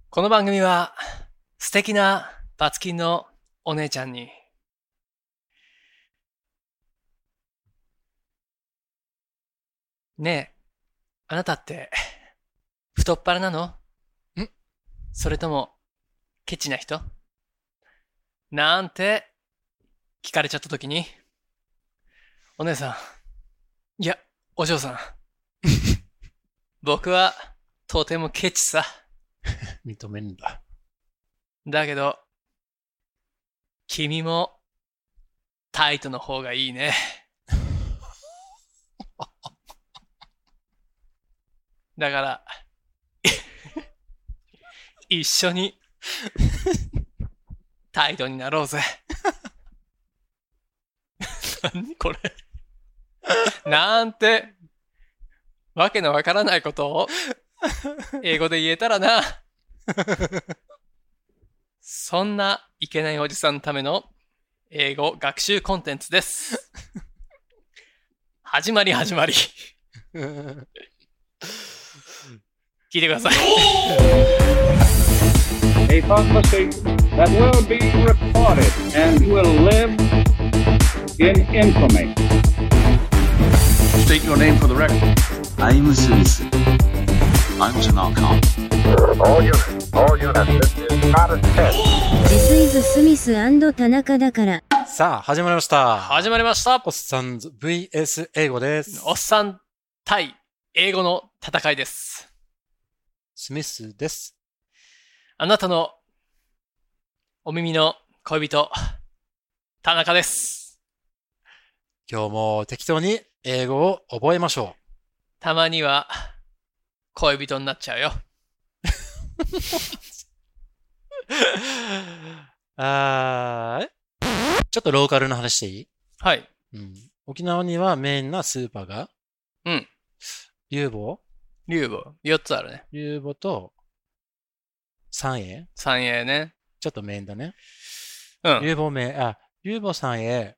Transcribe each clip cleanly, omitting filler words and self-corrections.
この番組は素敵なバツキンのお姉ちゃんにねえ、あなたって太っ腹なの？それともケチな人？なんて聞かれちゃった時に、お姉さん、いや、お嬢さん、僕はとてもケチさ。 認めんだ。 だけど、君もタイトの方がいいね。だから、一緒にタイトになろうぜ。何これ。なんて、わけのわからないことを英語で言えたらな。そんないけないおじさんのための英語学習コンテンツです。始まり。聞いてください。 A prophecy that will be recorded and will live in infamy. State your name for the record. I'm Smith. I'm Tanaka. All units, this is not a test. This is スミス&田中だから。 さあ、始まりました。 始まりました。 おっさんず VS 英語です。 おっさん対英語の戦いです。 スミスです。 あなたのお耳の恋人、田中です。 今日も適当に英語を覚えましょう。 たまには恋人になっちゃうよ。 ちょっとローカルな話していい？ はい。 沖縄にはメインなスーパーが、龍坊 4つあるね。 龍坊と三栄三栄ね。 ちょっとメインだね。 龍坊三栄。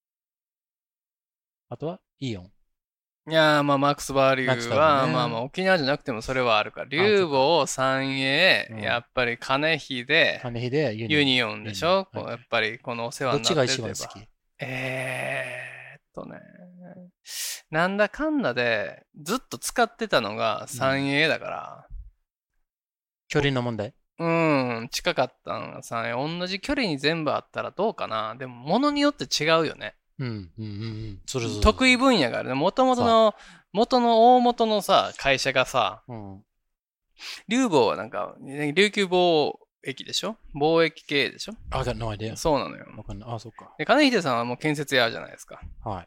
あとはイオン。 いやー、まあ、マックスバリューは、まあ、沖縄じゃなくてもそれはあるから。龍坊、三栄、やっぱり金秀、ユニオンでしょ、やっぱりこのお世話になってる。 どっちが一番好き？ なんだかんだでずっと使ってたのが三栄だから。 距離の問題？ 近かったのが三栄。同じ距離に全部あったらどうかな。でも、物によって違うよね。得意分野があるね。元の大元のさ、会社がさ、龍坊はなんか、琉球貿易でしょ？貿易系でしょ？ I got no idea. そうなのよ。 そっか。 で、金秀さんはもう建設屋じゃないですか。 はい。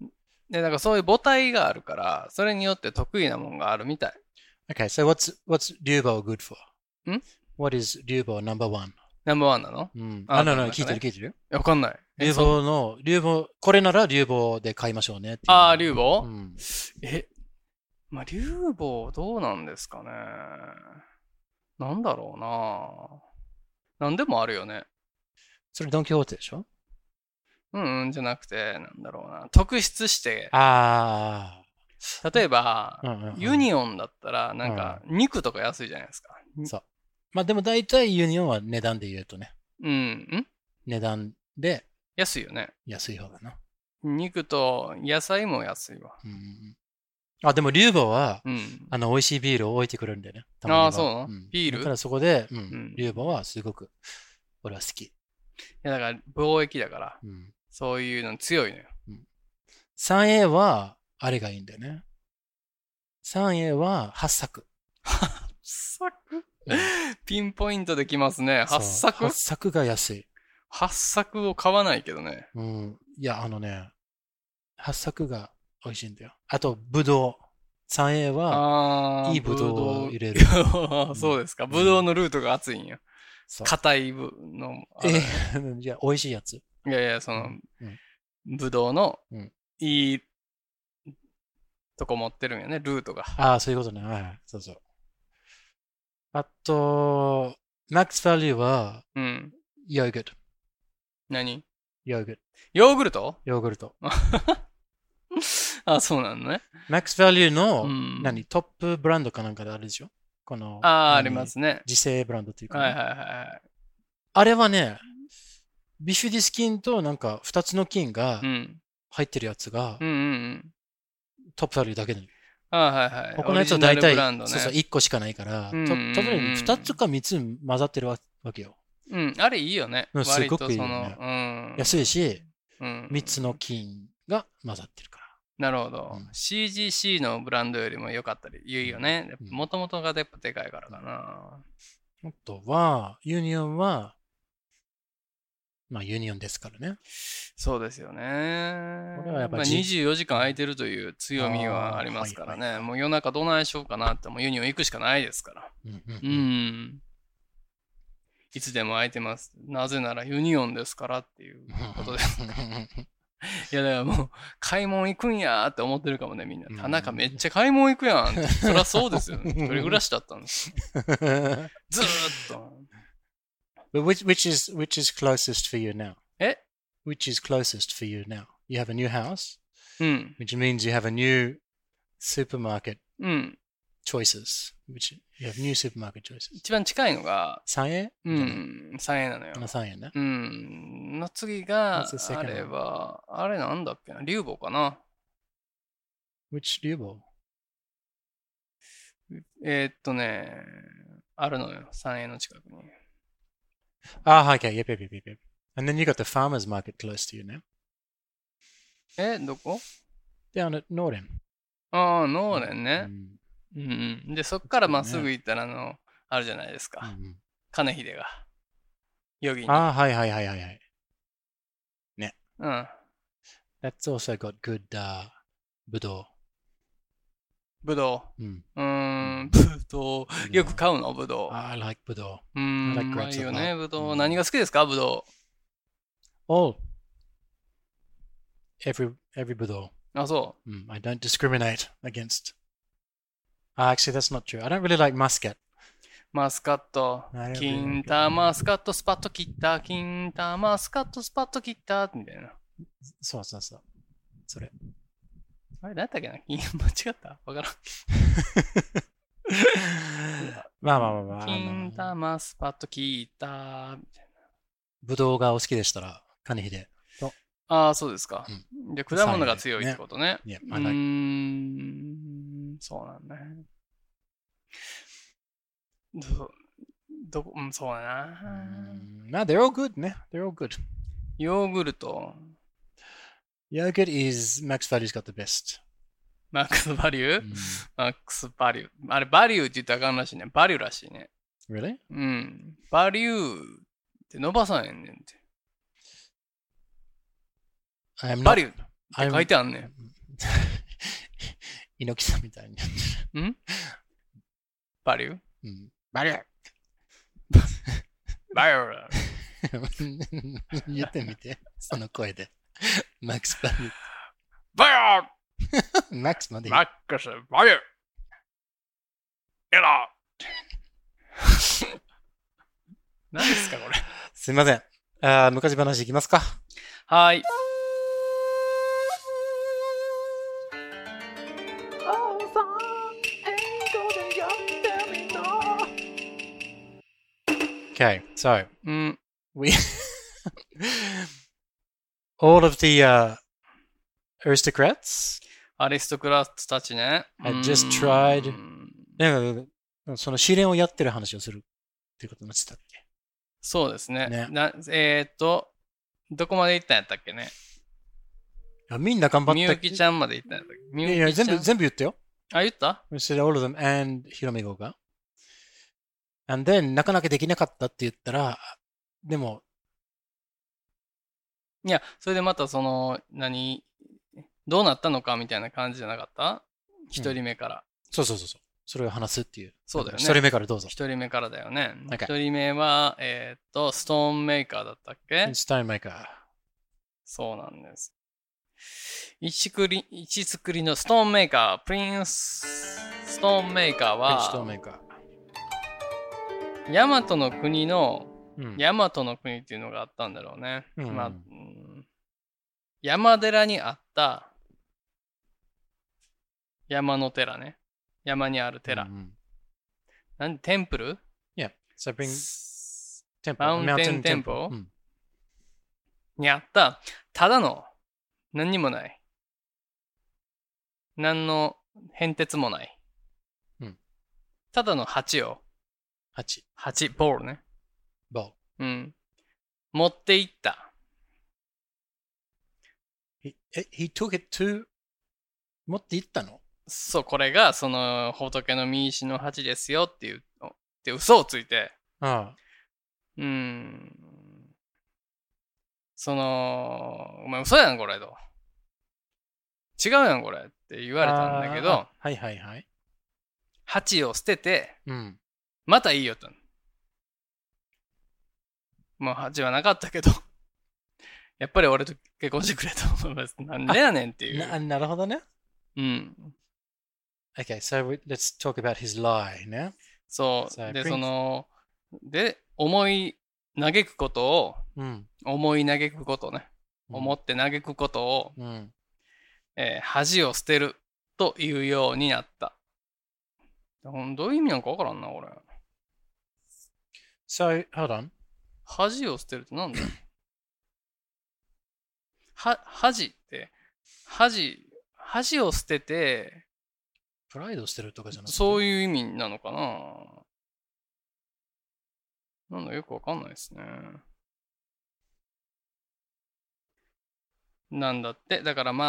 で、なんかそういう母体があるから、それによって得意なもんがあるみたい。 Okay, so what's 龍坊 good for? What is 龍坊 number one? ナンバーワンなの？ 聞いてるわかんない。 龍坊、これなら龍坊で買いましょうねって。 龍坊？まあ、龍坊どうなんですかね。なんだろうな。なんでもあるよね。 それドンキホーテでしょ？ じゃなくて、なんだろうな。特筆して。例えば、ユニオンだったら、なんか、肉とか安いじゃないですか。 そう。まあでも大体ユニオンは値段で言うとね。値段で。 安いよね。 安い方だな。 肉と野菜も安いわ。 でも龍坊は、美味しいビールを置いてくるんだよね。 そうなの？ビール？ だからそこで、龍坊はすごく、俺は好き。 いや、だから貿易だから、そういうの強いのよ。 三栄は、あれがいいんだよね。三栄は、八作。 ピンポイントできますね。八作？ 八作が安い。 八作を買わないけどね。 いや、八作が美味しいんだよ。あと、ぶどう。三栄は、いいぶどうを入れる。 そうですか。ぶどうのルートが厚いんや。硬いの。 いや、美味しいやつ。 いや、ぶどうの、いいとこ持ってるんやね、ルートが。 そういうことね。はい。そう。あと、マックスバリューは、ヨーグルト。 何？ ヨーグルト。 ヨーグルト？ ヨーグルト。 そうなのね。 マックスバリューの、トップブランドかなんかであるでしょ？ この、 ありますね。 自製ブランドというか、 はいはいはい。 あれはね、ビフィディス菌となんか2つの菌が入ってるやつが、トップバリューだけで。 はいはい。 他のやつは大体、そうそう、1個しかないから、トップバリュー2つか3つ混ざってるわけよ。 あれいいよね。 すごくいいよね。安いし、3つの菌が混ざってるから。 なるほど。CGC のブランドよりも良かったり言うよね。もともとがやっぱでかいからかな。 あとは、ユニオンは、まあユニオンですからね。 そうですよね。24時間空いてるという強みはありますからね。もう夜中どないしようかなってもうユニオン行くしかないですから。いつでも空いてます。なぜならユニオンですからっていうことです。いやだからもう買い物行くんやって思ってるかもねみんな。田中めっちゃ買い物行くやんって。そりゃそうですよね。一人暮らしだったんです。ずーっと。 But which is closest for you now? え Which is closest for you now? You have a new house, うん。 which means you have a new supermarket choices. Which you have new supermarket choices. 一番近いのが、 3円 3円なのよ。 3円ね。 の次が、あれは、あれなんだっけな、リュウボウかな。 Which リュウボウあるのよ、3円の近くに。 okay, yep. And then you got the farmer's market close to you now. どこ Down at Norden. ノーレンね。で、そっからまっすぐ行ったら、あるじゃないですか。金秀が。ヨギに。 はい。ね。That's also got good ブドウ。 ブドウ。ブドウ。よく買うのブドウ。 I like ブドウ。 うまいよね、ブドウ。何が好きですか、ブドウ。All. Every ブドウ。 あ、そう。 I don't discriminate against. Actually, that's not true. I don't really like muscat. マスカット。キンタマスカットスパッと切った。キンタマスカットスパッと切った。みたいな。 そう。それ。 あれ、何だっけな間違ったわからん。 まあ。 金玉スパッと切った。みたいな。 ぶどうがお好きでしたら、金秀と。 そうですか。で、果物が強いってことね。そうなんね。そうだな。 they're all good ね。They're all good. ヨーグルト。 Yogurt is Max Value's got the best. マックスバリューマックスバリュー。あれ、バリューって言ったらあかんらしいね。バリューらしいね。 Really? バリューって伸ばさへんねんって。バリューって書いてあんねん。 猪木さんみたいに。 バリューバリューバリュー言ってみて、その声で。マックスバリュー。 バリューマックスまでマックスバリューエラー何ですかこれ。 すいません。昔話いきますか。 はい。 Okay, so we all of the aristocrats アリストクラッツたちね。 had just tried その試練をやってる話をするっていうことになってたっけ。 そうですね。どこまで行ったんやったっけね。 みんな頑張った。 みゆきちゃんまで行ったんやったっけ。 いや全部言ったよ。 言った We said all of them and ひろめごが。And then なかなかできなかったって言ったら、でも。 いや、それでまたどうなったのかみたいな感じじゃなかった一人目から。 そう。それを話すっていう。 そうだよね。 一人目からどうぞ。 一人目からだよね。一人目は、ストーンメーカーだったっけ？ ストーンメーカー。 そうなんです。一作りのストーンメーカー、プリンスストーンメーカーは、ヤマトの国の、ヤマトの国っていうのがあったんだろうね。山寺にあった山の寺ね。山にある寺。 なんでテンプル Yeah. So bring temple. Mountain temple? にあった、ただの何にもない。何の変哲もない。ただの鉢を。鉢、ボールね。 ボール。持っていった。 He took it to 持っていったの？ そう、これがその仏の御石の鉢ですよっていうで嘘をついて。その、お前嘘やんこれと。違うやんこれって言われたんだけど、 はいはいはい。 鉢を捨てて、またいいよと。もう鉢はなかったけど、やっぱり俺と結婚してくれと思います。なんでやねんっていう。 なるほどね。Okay, so let's talk about his lie now. そう。で、で、思い嘆くことを、思い嘆くことね。思って嘆くことを、恥を捨てるというようになった。どういう意味なんかわからんな、俺。 So, hold on. 恥を捨てるってなんだ恥って、恥を捨てて、 プライドを捨てるとかじゃなくてそういう意味なのかな。なんだよくわかんないですね。なんだって。だから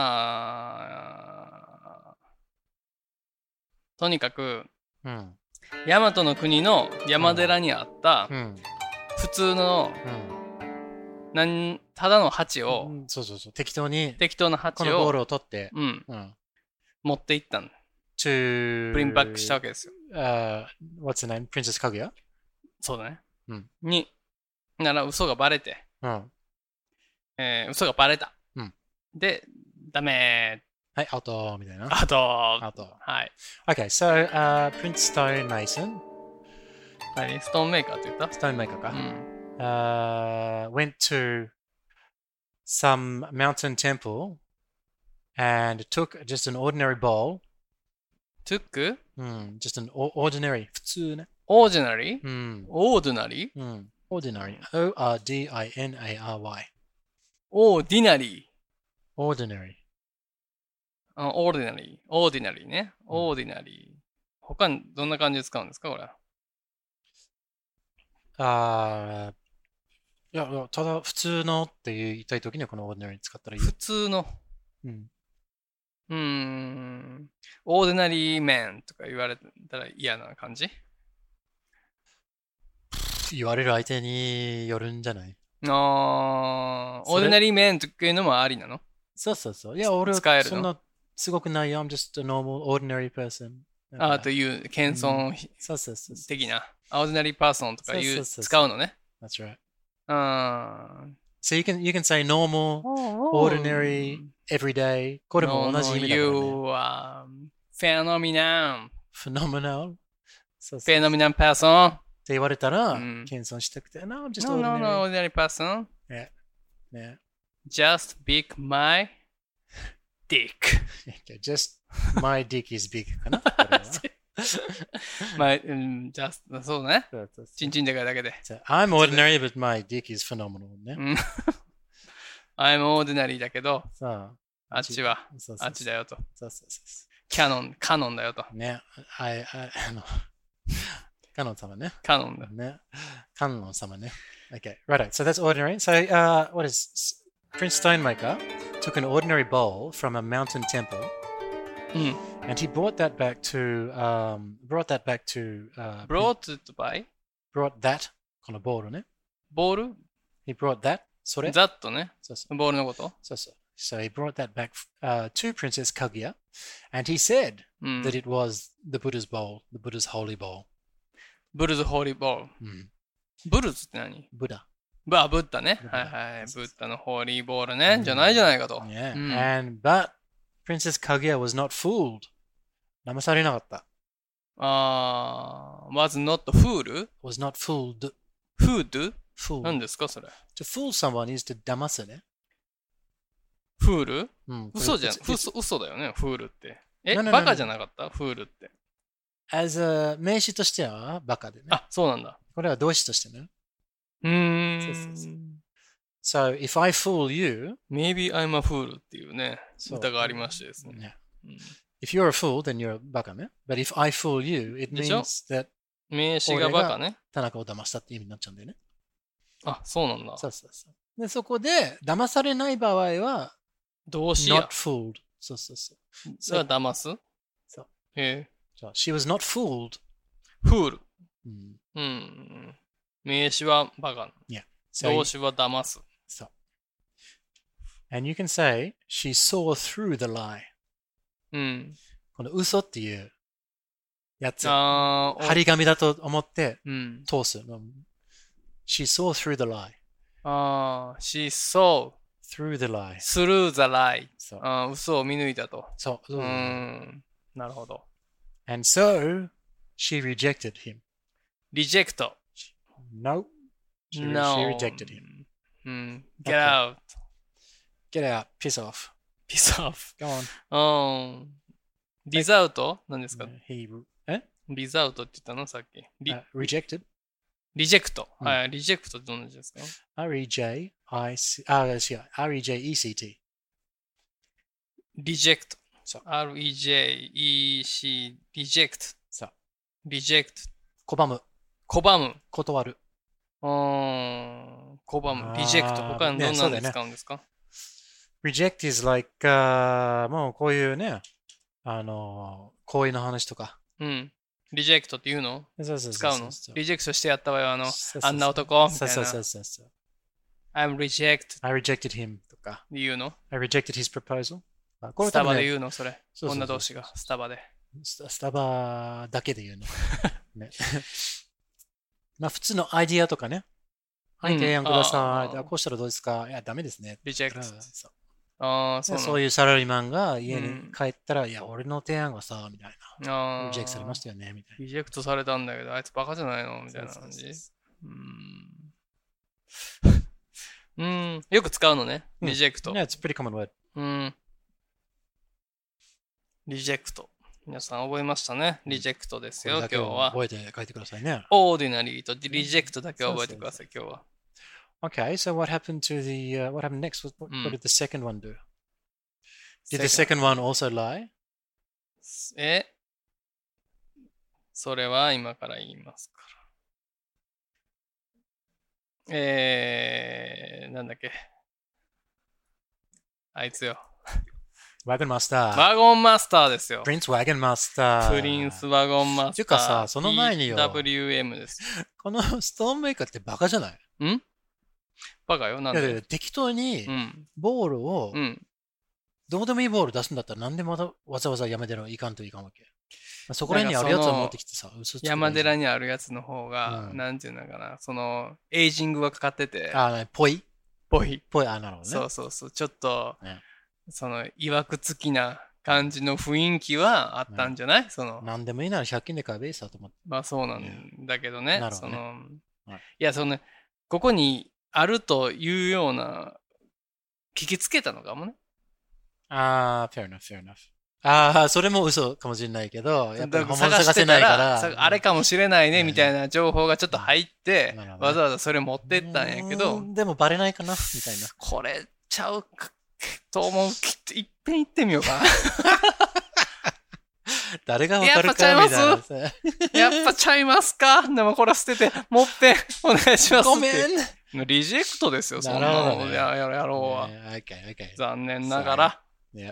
まあ、とにかく、大和の国の山寺にあった、普通の、ただの鉢を、 適当な鉢を、このボールを取って、 持っていったんだ。プリンバックしたわけですよ。 What's the name? Princess Kaguya? そうだね。なら嘘がバレて、嘘がバレた。で、ダメー。はい、アウトみたいな。 アウト。 はい。Okay, so, Prince Stonemason. 何ストーンメーカーって言った？ ストーンメーカーか。went to some mountain temple and took just an ordinary bowl. took? Just an ordinary, 普通ね。 ordinary? ordinary? ordinary. O-R-D-I-N-A-R-Y. ordinary. ordinary. ordinary. ordinary ね。ordinary. 他にどんな感じで使うんですかこれ。 いや、ただ普通のって言いたいときにはこの ordinary 使ったらいい。 普通の。ordinary man とか言われたら嫌な感じ？ 言われる相手によるんじゃない？ ordinary man というのもありなの？ そうそうそう。いや、俺はそんなすごくないよ。I'm just a normal, ordinary person. という謙遜的な。ordinary person とか使うのね。 That's right. So you can say normal, ordinary, everyday. これも同じ意味だからね。 You are phenomenal. Phenomenal? Phenomenal person. って言われたら、謙遜したくて。No, I'm just ordinary. No, ordinary person. Yeah. Just big my dick. Just my dick is big かな just そうね。チンチンでかいだけで。 I'm ordinary, but my dick is phenomenal ね。 I'm ordinary だけど、あっちは、あっちだよと。カノンだよと。 ね。カノン様ね。 カノンだ。 ね。カノン様ね。Okay, right. So that's ordinary. So, what is Prince Stonemaker took an ordinary bowl from a mountain temple, and he brought that back to brought thatこのボールね。 ボール He brought that それ that ね。ボールのことそうそう。So he brought that back to Princess Kaguya, and he said that it was the Buddha's bowl, the Buddha's holy bowl. Buddha's holy bowl. ブルズって何？ ブダ。 ブッダね。はいはい。ブッダのホーリーボールね。じゃないじゃないかと。 Yeah. But Princess Kaguya was not fooled. 騙されなかった。 was not fooled? Was not fooled. Fooled? Fooled. 何ですかそれ。 To fool someone is to 騙すね。 フール？嘘じゃん。嘘だよね。フールって。バカじゃなかったフールって。 as a 名詞としてはバカでね。 あ、そうなんだ。 これは動詞としてね。そうそうそう。So, if I fool you, Maybe I'm a fool っていうね、歌がありましてですね。 If you're a fool, then you're バカね。But if I fool you, it means that 名詞がバカね。 田中を騙したって意味になっちゃうんだよね。 あ、そうなんだ。 そうそうそう。で、そこで、騙されない場合は、 動詞や。 not fooled。そうそうそう。 それは騙すそう。 へえ。 She was not fooled. fool。名詞はバカ。動詞は騙す。 そう。And you can say, she saw through the lie. この嘘っていうやつ。張り紙だと思って通す。She saw through the lie. She saw through the lie. through the lie. そう。 嘘を見抜いたと。 そう。 なるほど。 And so, she rejected him. reject. No. She rejected him. Get out. Get out. Piss off. Piss off. Go on. リザウト何ですかリザウトって言ったのさっき。 rejected. リジェクト。はい。リジェクトってどんな字ですか ?R-E-J-E-C-T。 リジェクト。R-E-J-E-C、リジェクト。 そう。 リジェクト。 拒む。 拒む。 断る。 拒む。リジェクト。他にどんなのに使うんですか、 ?reject is like, もうこういうね、行為の話とか。 リジェクトって言うの使うのリジェクトしてやった場合はあんな男みたいな。 そう。 I'm reject. I rejected him とか。 言うの I rejected his proposal. スタバで言うのそれ。女同士がスタバで。 スタバだけで言うの。ね、まあ普通のアイディアとかね。はい、提案ください。こうしたらどうですかいや、ダメですね。 リジェクト。 そういうサラリーマンが家に帰ったら、いや、俺の提案がさ、みたいな。リジェクトされましたよね、みたいな。 リジェクトされたんだけど、あいつバカじゃないのみたいな感じ。よく使うのね。リジェクト。 Yeah, it's a pretty common word. リジェクト。皆さん覚えましたね。リジェクトですよ、今日は。 覚えて書いてくださいね。 オーディナリーとリジェクトだけ覚えてください、今日は。 Okay, so what happened next? What did the second one do? Did the second one also lie? それは今から言いますから。なんだっけ。あいつよ。 ワゴンマスター。 ワゴンマスターですよ。 プリンスワゴンマスター。 プリンスワゴンマスター。 ていうかさ、その前によ。 WM です。 このストーンメーカーってバカじゃないバカよ。なんで適当にボールを、どうでもいいボール出すんだったら何でもわざわざ山寺いかんといかんわけ。そこら辺にあるやつを持ってきてさ、 山寺にあるやつの方が、なんていうのかな、エイジングがかかってて。 ぽい、 なるほどね。そう。ちょっと、いわくつきな感じの雰囲気はあったんじゃない、 何でもいいなら100均で買えばいいさと思って。 まあそうなんだけどね。いや、ここにあるというような、聞きつけたのかもね。 fair enough. それも嘘かもしれないけど、やっぱり本物探せないから。 あれかもしれないね、みたいな情報がちょっと入って、わざわざそれ持ってったんやけど。 でもバレないかなみたいな。 これちゃうかと思う。いっぺん行ってみようかな。 誰がわかるかみたいな。 やっぱちゃいますかでもこれ捨てて、もっぺんお願いします。 ごめん。 リジェクトですよ、そんなのやろうは。残念ながら。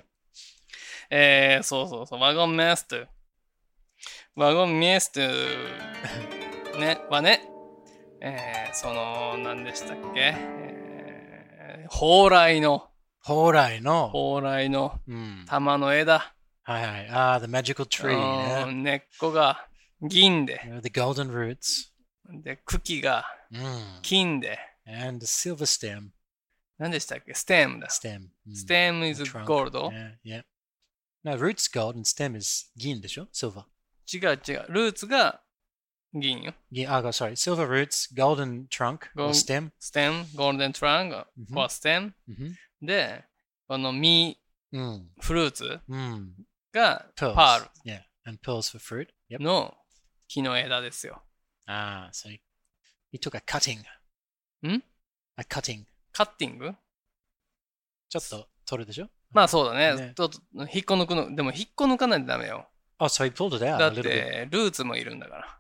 そう。ワゴンメスト。ワゴンメストね、はね、何でしたっけ蓬莱の玉の枝。 はいはい。the magical tree ね。 根っこが銀で。 the golden roots。 で、茎が金で。 and the silver stem。 何でしたっけstem だ。stem is gold? No, roots gold and stem is 銀でしょ silver。 違う。ルーツが銀よ。 sorry. Silver roots, golden trunk or stem. Stem, golden trunk or stem. で、この実、フルーツが pearl. Yeah, and pearls for fruit. の木の枝ですよ。 so he took a cutting. ん A cutting. カッティングちょっと取るでしょまあそうだね。ちょっと引っこ抜くの。でも引っこ抜かないとダメよ。 so he pulled it out だ a っ little bit. て、ルーツもいるんだから。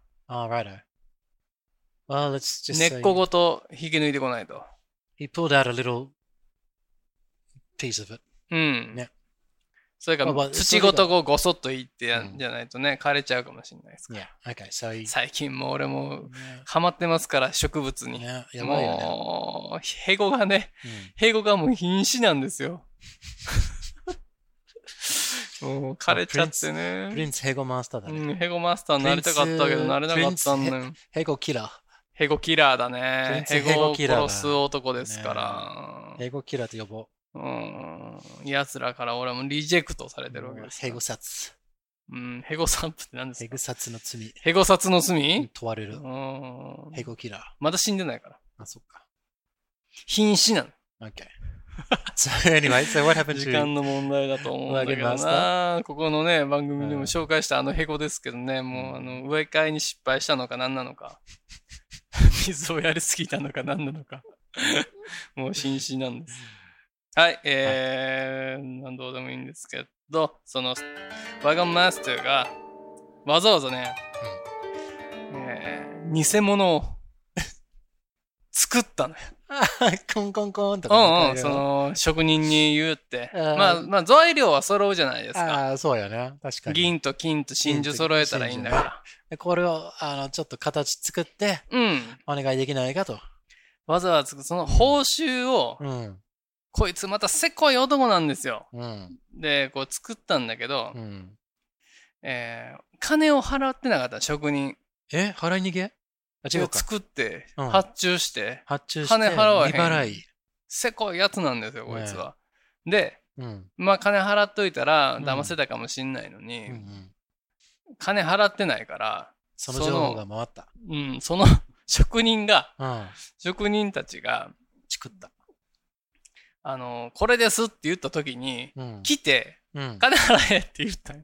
righto. Well, let's just 根っこごと引き抜いてこないと。 he pulled out a little piece of it. うん。 ね。 それから土ごとこうごそっといってやんじゃないとね、枯れちゃうかもしれないですから。 Yeah, okay, so he... 最近もう俺もハマってますから植物に。 やばいよね。 もう、ヘゴがね、ヘゴがもう瀕死なんですよ。もう枯れちゃってね。 プリンスヘゴマスターだね。 ヘゴマスターになりたかったけどなれなかったんね。 ヘゴキラー。 ヘゴキラーだね。ヘゴを殺す男ですから。 ヘゴキラーと呼ぼう。 奴らから俺はもうリジェクトされてるわけです。 ヘゴ殺。 ヘゴサンプって何ですか？ ヘゴ殺の罪。 ヘゴ殺の罪？ 問われる。ヘゴキラー。 まだ死んでないから。 あ、そっか。 瀕死なの。 Okay. So anyway, so what happened to... 時間の問題だと思うんだけどな。ここのね、番組でも紹介したヘゴですけどね、もう植え替えに失敗したのか何なのか。水をやりすぎたのか何なのか。もう瀕死なんです。はい、どうでもいいんですけど、そのワゴンマスターがわざわざね、偽物を作ったのよ。 コンコンコンとか。 その職人に言うって。まあ材料は揃うじゃないですか。 そうよね。確かに。 銀と金と真珠揃えたらいいんだから。 これをちょっと形作って、お願いできないかと。 わざわざその報酬を、こいつまたせっこい男なんですよ。で、こう作ったんだけど、金を払ってなかった職人。 払い逃げ？違うか。 作って、発注して、 金払わへん。 未払い。 せこいやつなんですよ、こいつは。で、まあ金払っといたら騙せたかもしんないのに、金払ってないから、 その情報が回った。 その職人たちが、 作った。 これですって言った時に、来て、金払えって言った。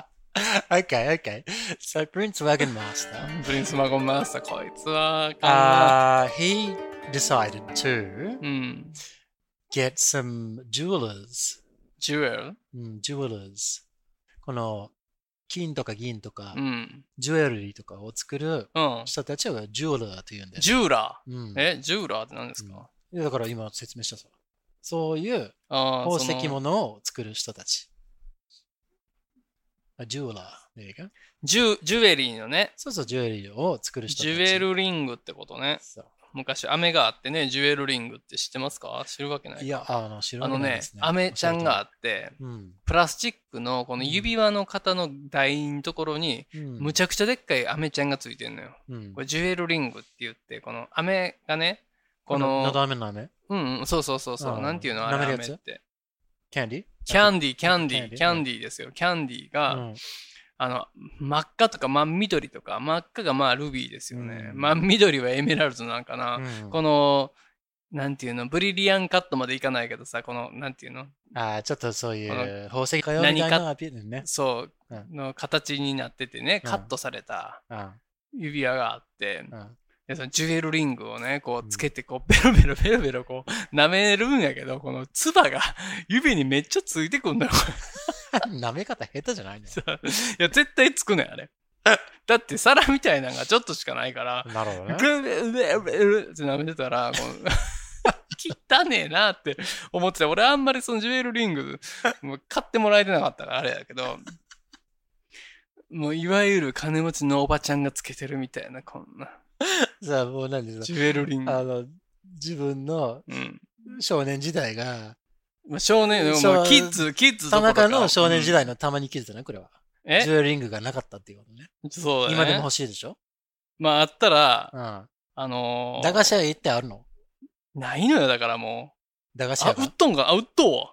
Okay. So Prince Wagon Master. Prince Wagon Master, こいつは、 he decided to get some jewelers. Jewelers. この金とか銀とか、ジュエリーとかを作る人たちはジュエラーというんです。 ジューラー？ジューラーって何ですか？ だから今説明したさ。そういう宝石物を作る人たち。ジュエラー。 ジュエリーのね。 そう、ジュエリーを作る人たち。 ジュエルリングってことね。昔、飴があってね、ジュエルリングって知ってますか？知るわけないか。 いや、知るわけないですね。 飴ちゃんがあって、プラスチックのこの指輪の型の台のところに、むちゃくちゃでっかい飴ちゃんがついてるのよ。これジュエルリングって言って、この飴がね、この。 のど飴の飴？ そう。なんていうのあれ飴って。 キャンディーですよ。キャンディーが、真っ赤とか真緑とか、真っ赤がまあルビーですよね。真緑はエメラルドなんかな。この、なんていうの、ブリリアンカットまでいかないけどさ、この、なんていうの？ ちょっとそういう宝石かよみたいなアピールね。 そう、の形になっててね、カットされた指輪があって、そのジュエルリングをね、こうつけて、こう、ベロベロ、こう、舐めるんやけど、この唾が指にめっちゃついてくんだよ、これ。舐め方下手じゃないの？ いや、絶対つくねん、あれ。だって皿みたいなのがちょっとしかないから、 なるほどね。 って舐めてたら、汚ねえなって思ってた。俺あんまりそのジュエルリング、もう買ってもらえてなかったからあれやけど、もういわゆる金持ちのおばちゃんがつけてるみたいな、こんな。 さあ、もう何ですか？ ジュエルリング。 自分の少年時代が、 少年、もうキッズ田中の少年時代のたまにキッズだね、これは。ジュエルリングがなかったっていうことね。 そうだね。 今でも欲しいでしょ？ まあ、あったら、 駄菓子屋行ってあるの？ ないのよ、だからもう。駄菓子屋が。 売っとんか？売っとうわ。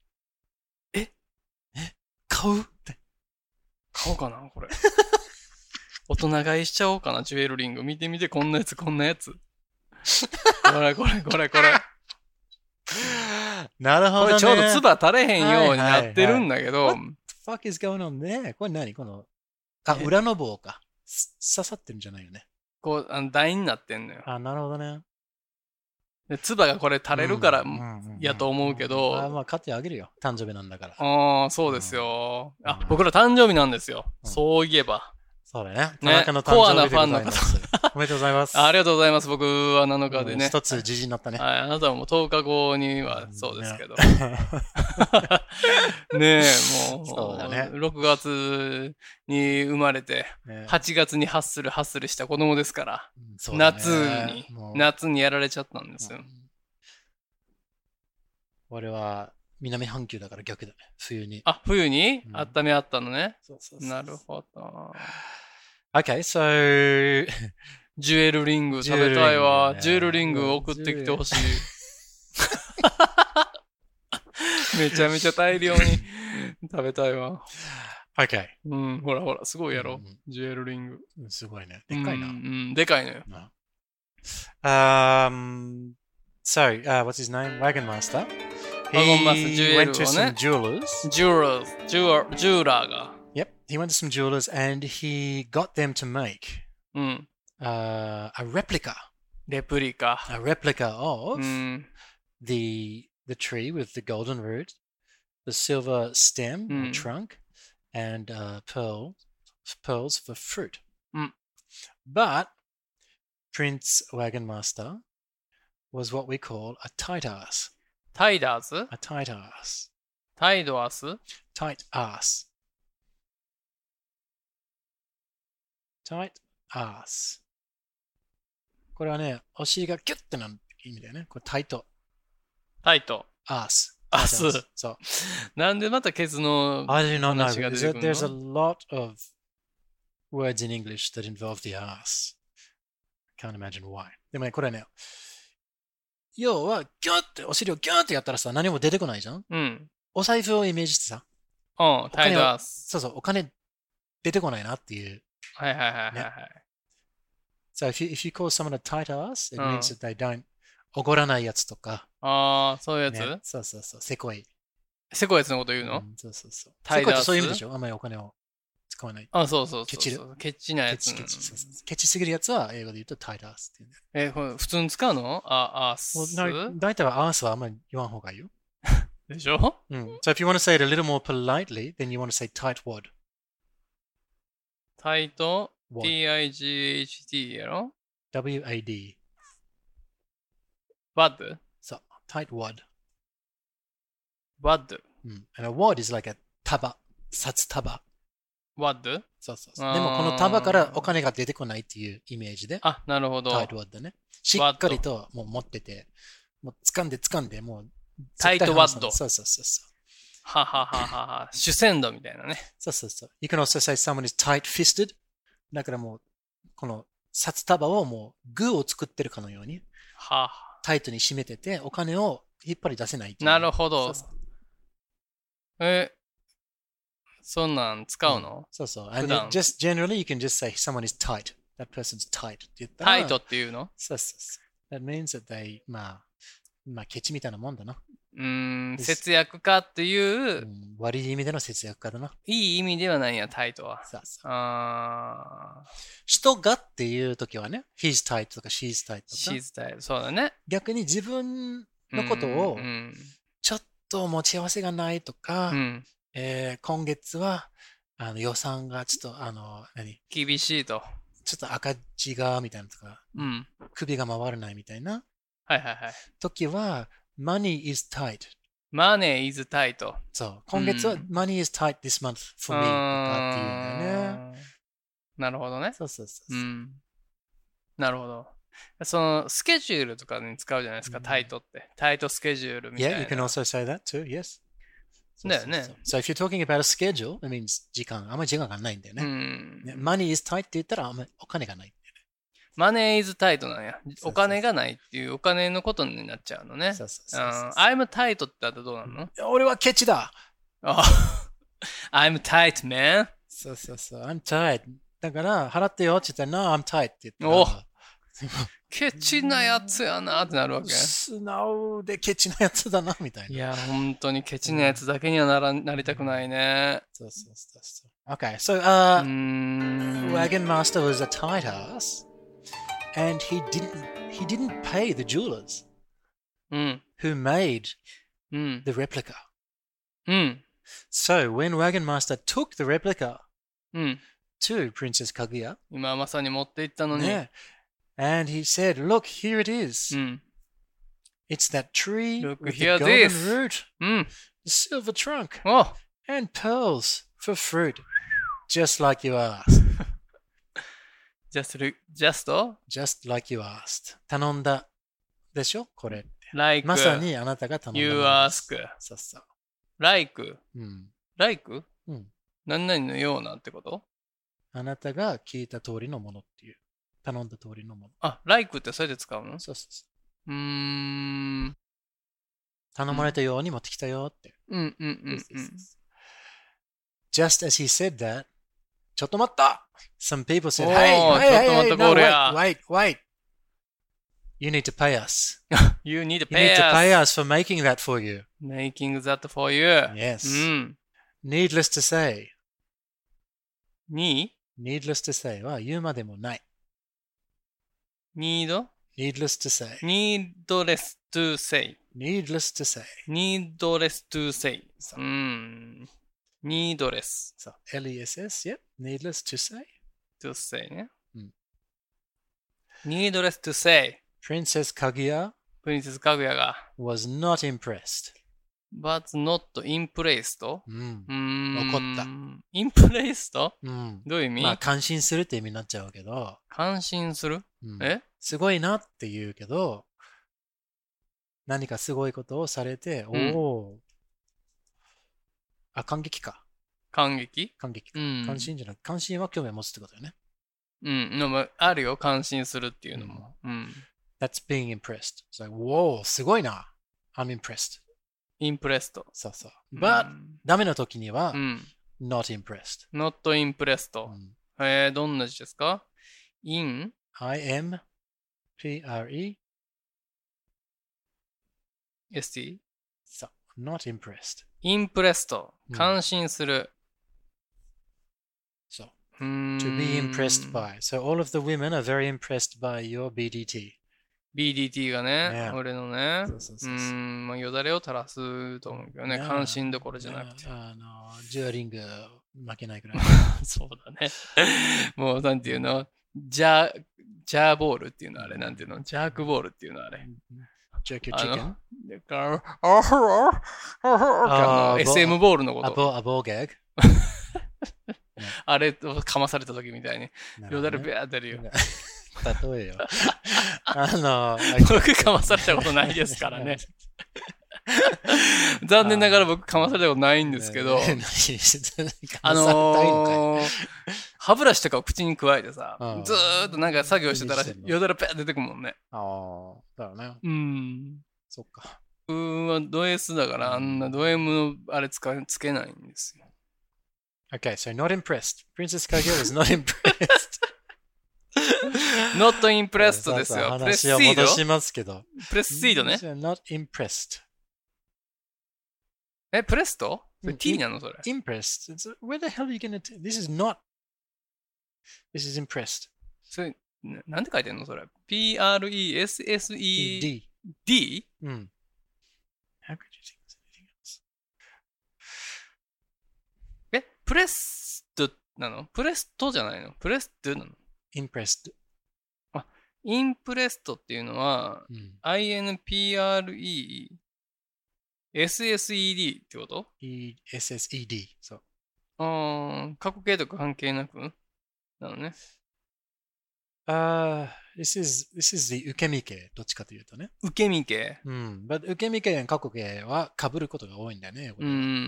買うって。 買おうかな、これ。大人買いしちゃおうかな、ジュエルリング。見てみて、こんなやつ。これ。 なるほどね。 これちょうど唾垂れへんようになってるんだけど、 fuck is going on there? これ何この、裏の棒か。刺さってるんじゃないよね。 こう、台になってんのよ。 なるほどね。 で、唾がこれ垂れるからやと思うけど。 まあ、買ってあげるよ。誕生日なんだから。 そうですよ。僕ら誕生日なんですよ。そういえば。 そうだね。田中の誕生日でございます。おめでとうございます。 ありがとうございます。僕は7日でね。 一つ時事になったね。 はい。あなたはもう10日後にはそうですけど。ねえ、もう、 そうだね、 6月に生まれて、8月にハッスルした子供ですから、夏にやられちゃったんですよ。 俺は南半球だから逆だね。冬に。 冬に温めあったのね。なるほど。 Okay, so ジュエルリング食べたいわ。ジュエルリング送ってきてほしい。めちゃめちゃ大量に食べたいわ。 Okay. ほらほら、すごいやろ。ジュエルリング。 すごいね。でっかいな。 でかいのよ。 So, what's his name? Wagon Master. Wagon Master, He went to some jewelers. Jeweler が。 Yep, he went to some jewelers and he got them to make a replica. レプリカ。 A replica of the tree with the golden root, the silver stem or trunk, and pearls for fruit. But Prince Wagon Master was what we call a tight ass. タイダーズ A tight ass. タイドアス Tight ass. Tight ass. これはね、お尻がキュッてなる意味だよね。これタイト。 タイト。 ass. アス。 そう。 なんでまたケツの I do not know. 話が出てくるの There's a lot of words in English that involve the ass. Can't imagine why. でもね、これね、要は、ギュッて、お尻をギュッてやったらさ、何も出てこないじゃん。お財布をイメージしてさ。 タイトアス。 そうそう、お金出てこないなっていう。 はいはいはいはい、はい。 So if you call someone a tight ass, it means that they don't おごらないやつとか。 そういうやつ、 ね、そうそうそう、せこい。 せこいやつのこと言うの、 そうそうそう。 タイトアス。 せこいってそういう意味でしょあんまりお金を使わない。 そうそうそう。ケチる。ケチなやつ。 ケチすぎるやつは英語で言うとタイトアスっていう、 ね。これ普通に使うのアース。 大体はアースはあんまり言わん方がいいよ。 でしょ So if you want to say it a little more politely, then you want to say tightwad. タイト T-I-G-H-T やろ W-A-D. Wad? そう、tightwad. Wad? And a wad is like a 束、札束。 Wad? そうそうそう。でもこの束からお金が出てこないっていうイメージで。 なるほど。 tightwad だね。しっかりともう持ってて、もう掴んで、もう。 タイトワッド。 そうそうそうそう。 ははははは。主戦度みたいなね。 そうそうそう。You can also say someone is tight-fisted. だからもう、この札束をもうグーを作ってるかのように、タイトに締めてて、お金を引っ張り出せない。 なるほど。そんなん使うの、 そうそう。And just generally you can just say someone is tight. That person's tight. って言ったらタイトっていうのそうそうそう。That means that they, まあ、ケチみたいなもんだな。 節約家っていう、 悪い意味での節約家だな。 いい意味ではないんや、タイトは。 そうそう。人がっていう時はね、he's tight とか she's tight とか。 she's tight。そうだね。 逆に自分のことを、ちょっと持ち合わせがないとか、今月は予算がちょっと、 厳しいと。 ちょっと赤字が、みたいなとか、首が回らないみたいな。 はいはいはい。 時は、money is tight. money is tight. そう。今月は、money is tight this month for me とかっていうんだよね。 なるほどね。 そうそうそう。 なるほど。その、スケジュールとかに使うじゃないですか、タイトって。タイトスケジュールみたいな。 Yeah, you can also say that too, yes. だよね。 So if you're talking about a schedule, that means あんまり時間がないんだよね。money is tight って言ったら、あんまりお金がない。 マネー is tight なんや。お金がないっていうお金のことになっちゃうのね。I'm tight ってあったらどうなの？ 俺はケチだ。 I'm tight, man. そうそうそう。I'm tight. だから、払ってよって言ったら、No, I'm tight って言ったら。 ケチなやつやなってなるわけ。 素直でケチなやつだな、みたいな。 いや、本当にケチなやつだけにはなりたくないね。 そうそうそうそう。Okay, so, Wagon Master was a tight ass, and he didn't pay the jewelers who made the replica. So when Wagon Master took the replica to Princess Kaguya, 今まさに持って行ったのに。 yeah, and he said, "Look, here it is. It's that tree Look, with here the golden this. root, the silver trunk, お and pearls for fruit, just like you asked." just Just like you asked. 頼んだでしょこれ。 like まさにあなたが頼んだも you のです。 ask そうそう。 like うん。 like うん何々のようなってこと？ あなたが聞いた通りのものっていう。頼んだ通りのもの。 あ、like ってそれで使うの？ そうそうそう。 頼頼まれたように持ってきたよって。 うんうんうんうん。 Just as he said that, ちょっと待った Some people said, おー Hey, ちょっと待っ hey, て no, これや wait. You need to pay us. You need to You need pay to pay us. us for making that for you. Making that for you. Yes. うん。 Needless to say. に Needless to say は言うまでもない。 need? Needless to say. Needless to say. Needless to say. Needless to say. うん。Needless So, L-E-S-S, yep. Needless to say. to say ね。 うん Needless to say. Princess Kaguya プリンセスかぐやが was not impressed. but not impressed? うん。怒った。 impressed? うん。 どういう意味、 まあ、感心するって意味になっちゃうけど、 感心する、 うんえすごいなって言うけど、何かすごいことをされて、おお。あ、感激か。 感激感激か。 うん関心じゃなく、関心は興味を持つってことだよね。 うん。でもあるよ。感心するっていうのも。うん。 That's being impressed. It's like, whoa, すごいな。I'm impressed. impressed. そうそう。But、ダメな時には、 うん。 not impressed. not impressed. うんどんな字ですか ?in? I-M P-R-E st? そう。not impressed. impressed. うん感心する。 そう。 うーん To be impressed by. So all of the women are very impressed by your BDT. BDT がね、 ね俺のね。 そうそうそうそうまあ、よだれを垂らすと思うけどね。 ね関心どころじゃなくて。 ジュアリング負けないくらい。 そうだね。もう、なんていうのジャーボールっていうのあれ、なんていうのジャークボールっていうのあれ。 Jerk your chicken? だから、SM ボールのこと。 アボーギャグあれをかまされた時みたいに、よだれベア出るよ。 例えよ。 僕かまされたことないですからね。残念ながら僕かまされたことないんですけど、歯ブラシとかを口に加えてさ、ずーっとなんか作業してたらよだれペア出てくるもんね。 ああ、だよね。そっか。 はド S だからあんなド M のあれつけないんですよ。 Okay, so not impressed. Princess Kaguya was not impressed. not impressed ですよ。プレスシードしますけど。 プレスシードね。 not impressed. プレスト？T なのそれ。 impressed. Where the hell are you gonna This is not. This is impressed. それ、なんて書いてんのそれ。P-R-E-S-S-E-D? D? How could you think there's anything else? プレストなのプレストじゃないのプレストなの impressed. あ、インプレストっていうのは、INPRESSED ってこと？ ESSED. そう。 過去形とか関係なくなのね。 This is the 受け身形。どっちかというとね。 受け身形。 but 受け身形や過去形は被ることが多いんだよね。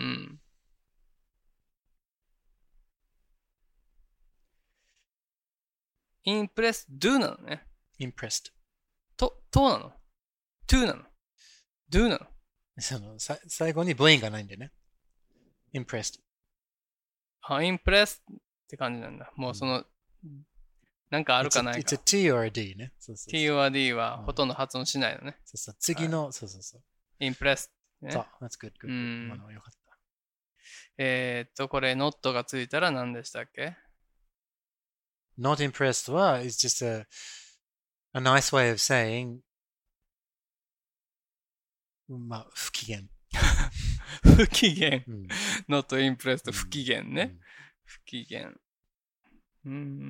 インプレスドなのね。 impressed。 となの ?to なの ?do なの最後に母音がないんでね。impressed。 インプレスって感じなんだ。もうその、 なんかあるかないか。 It's a T or a D ね。 T or D はほとんど発音しないのね。 次の、そう。 impressed ね。 そう、that's good. 今のよかった。 これ not がついたら何でしたっけ？ Not impressed は is just a nice way of saying まあ、不機嫌。 不機嫌。not impressed 不機嫌ね。不機嫌。不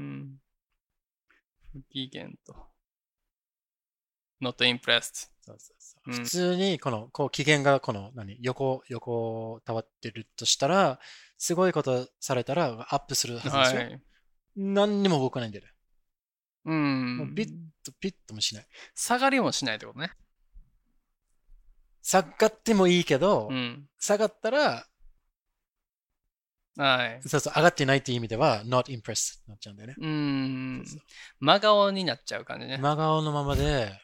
機嫌と。not impressed。 普通に、こう、機嫌が、横たわってるとしたら、すごいことされたら、アップするはずですよ。はい、何にも動かないんだよね。もうピッともしない。 下がりもしないってことね。 下がってもいいけど、下がったら、 はい。 上がってないっていう意味では、not impressed になっちゃうんだよね。 真顔になっちゃう感じね。 真顔のままで、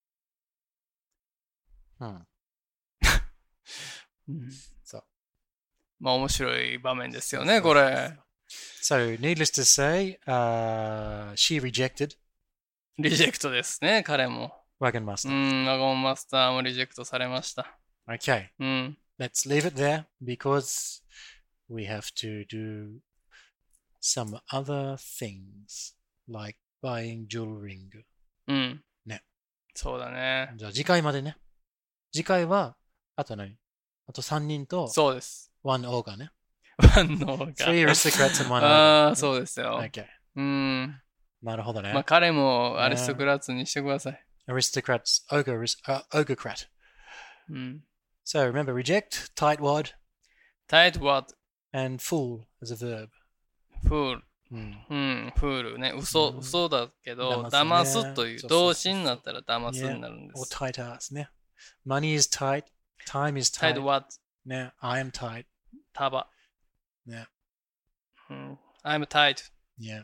そう。 まあ面白い場面ですよね、これ。 So, needless to say, she rejected. リジェクトですね、彼も。 Wagon Master. ワゴンマスターもリジェクトされました。 Okay. Let's leave it there because we have to do some other things like buying jewelry ring. ね。 そうだね。 じゃあ次回までね。次回は、あと3人と、 そうです。 one ogre ね。 one ogre。 three aristocrats and one ogre。 ああ、そうですよ。 Okay。なるほどね。 まあ彼もアリストクラッツにしてください。 Aristocrats, ogrecrat. So remember, reject, tightwad. Tightwad. And fool as a verb. Fool. fool ね。嘘だけど、騙すという動詞になったら騙すになるんです。 or tight ass ね。Money is tight, time is tight. Tightwad. ね。I am tight. 束。 ね。 I'm tight. Yeah.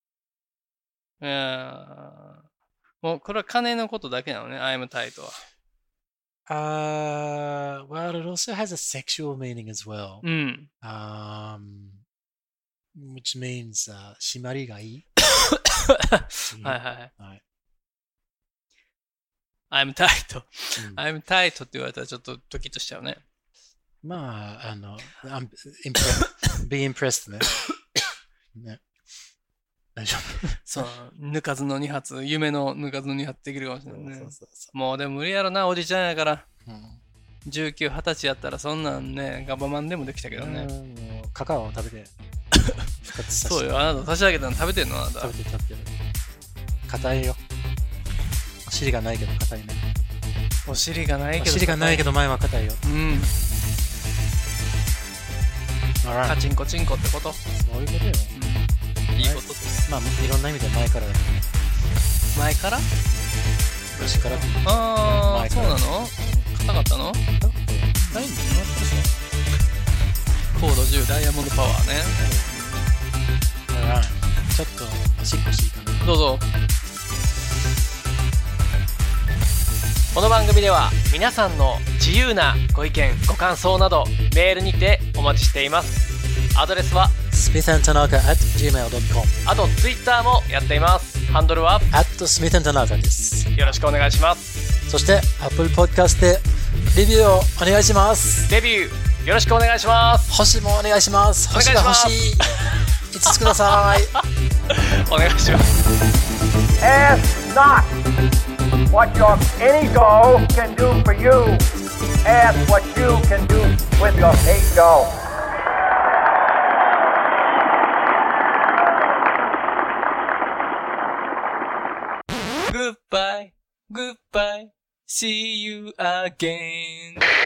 もうこれは金のことだけなのね、I'm tight は。 Well, it also has a sexual meaning as well. Which means 締まりがいい。 はい。I'm tight. I'm tight って言われたらちょっとドキッとしちゃうね。 まあ、be impressed ね。ね。大丈夫。 そう、抜かずの2発、夢の抜かずの2発できるかもしれないね。もうでも無理やろな、おじちゃんやから。19、20歳やったらそんなんね、ガバマンでもできたけどね。 もうカカオを食べて。 そうよ、あなた差し上げたの食べてんのあなた。 食べてる。硬いよ。お尻がないけど硬いね。 お尻がないけど前は硬いよ。 カチンコチンコってこと？ そういうことよ。 いいことです。 まあ、いろんな意味で前からだけど。 前から？ 昔から。 ああ、そうなの？硬かったの？ ないんだよ。 コード10ダイヤモンドパワーね。 ちょっとおしっこしていいかな。 どうぞ。この番組では皆さんの自由なご意見ご感想などメールにてお待ちしています。アドレスは smithandtanaka@gmail.com。 あとツイッターもやっています。ハンドルは @smithandtanaka です。 よろしくお願いします。 そして Apple Podcast でレビューをお願いします。 レビューよろしくお願いします。 星もお願いします。星が欲しい。5つください。 お願いします。 Ask not what your ego can do for you. Ask what you can do with your ego. Goodbye, see you again.